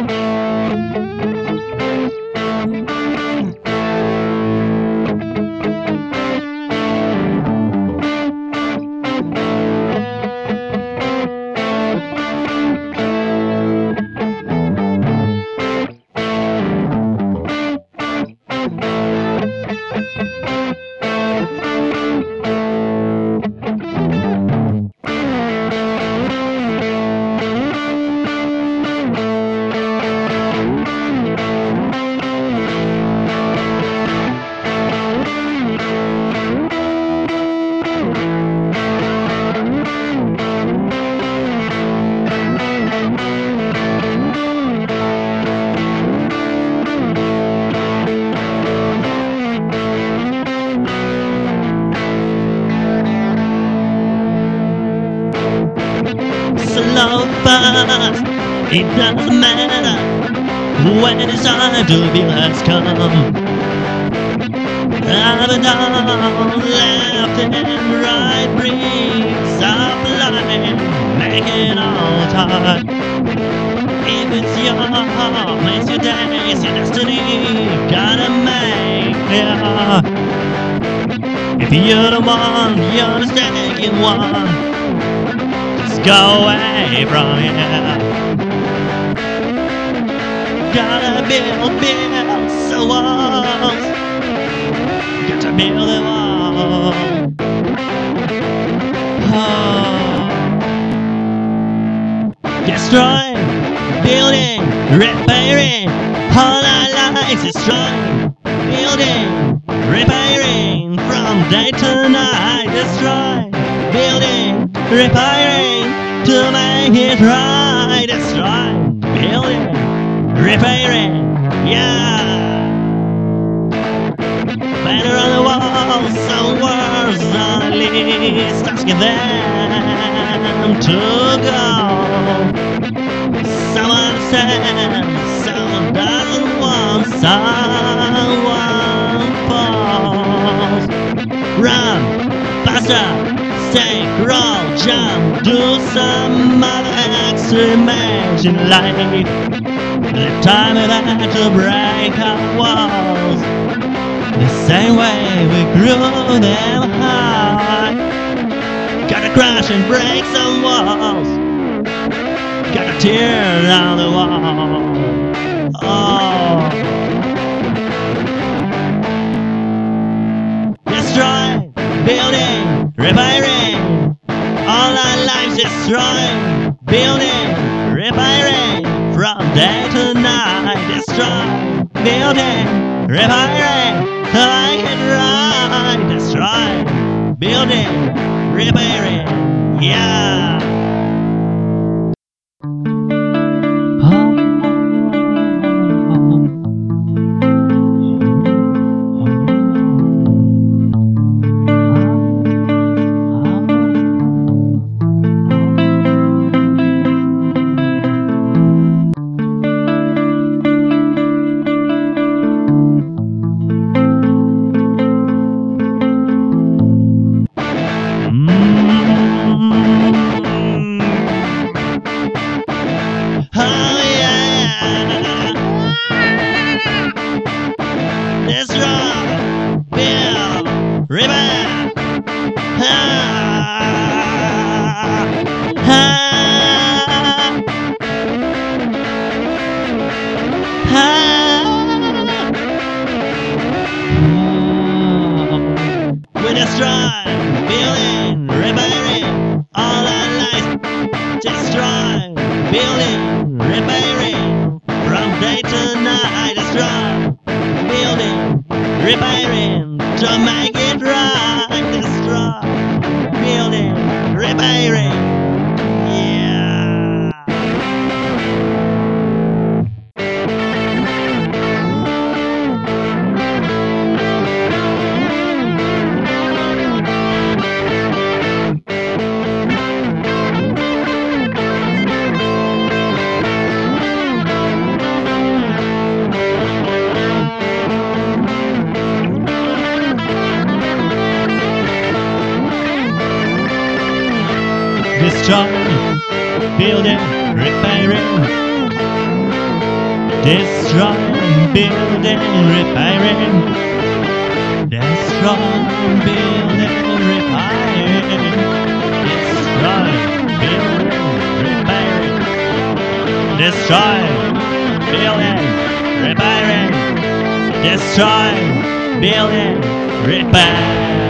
Slow fast, it doesn't matter when it's time to be has come. Up and down, left and right brings up line, make it all time. If it's your heart, makes your day, it's your destiny, gotta make it. If you're the one, you're the mistaken one. Go away from here. Gotta build some walls. Gotta build them all. Oh. Destroying, building, repairing. All our lives destroying, building, repairing. From day to night, destroying, building, repairing. To make it right, destroying, building, repairing, yeah. Better on the wall, some words on the list, asking them to go. Some understand, some doesn't want, someone falls. Run, faster. Stay, roll, jump, do some other extreme life. The time it had to break our walls. The same way we grew them high. Gotta crash and break some walls. Gotta tear down the wall. Oh. Destroy, building, repairing. All our lives destroying, building, repairing. From day to night, destroy, building, repairing. Like it right, destroy, building, repairing. Yeah. We destroy, building, repairing. All our lives destroy, building, repairing. From day to night, destroy, building, repairing. To make it right, destroy, building, repairing. Destroy, building, repairing. destroying, building, repairing, destroying, building, repairing, destroying, building, repairing, destroying, building, repairing, destroying, building, repairing.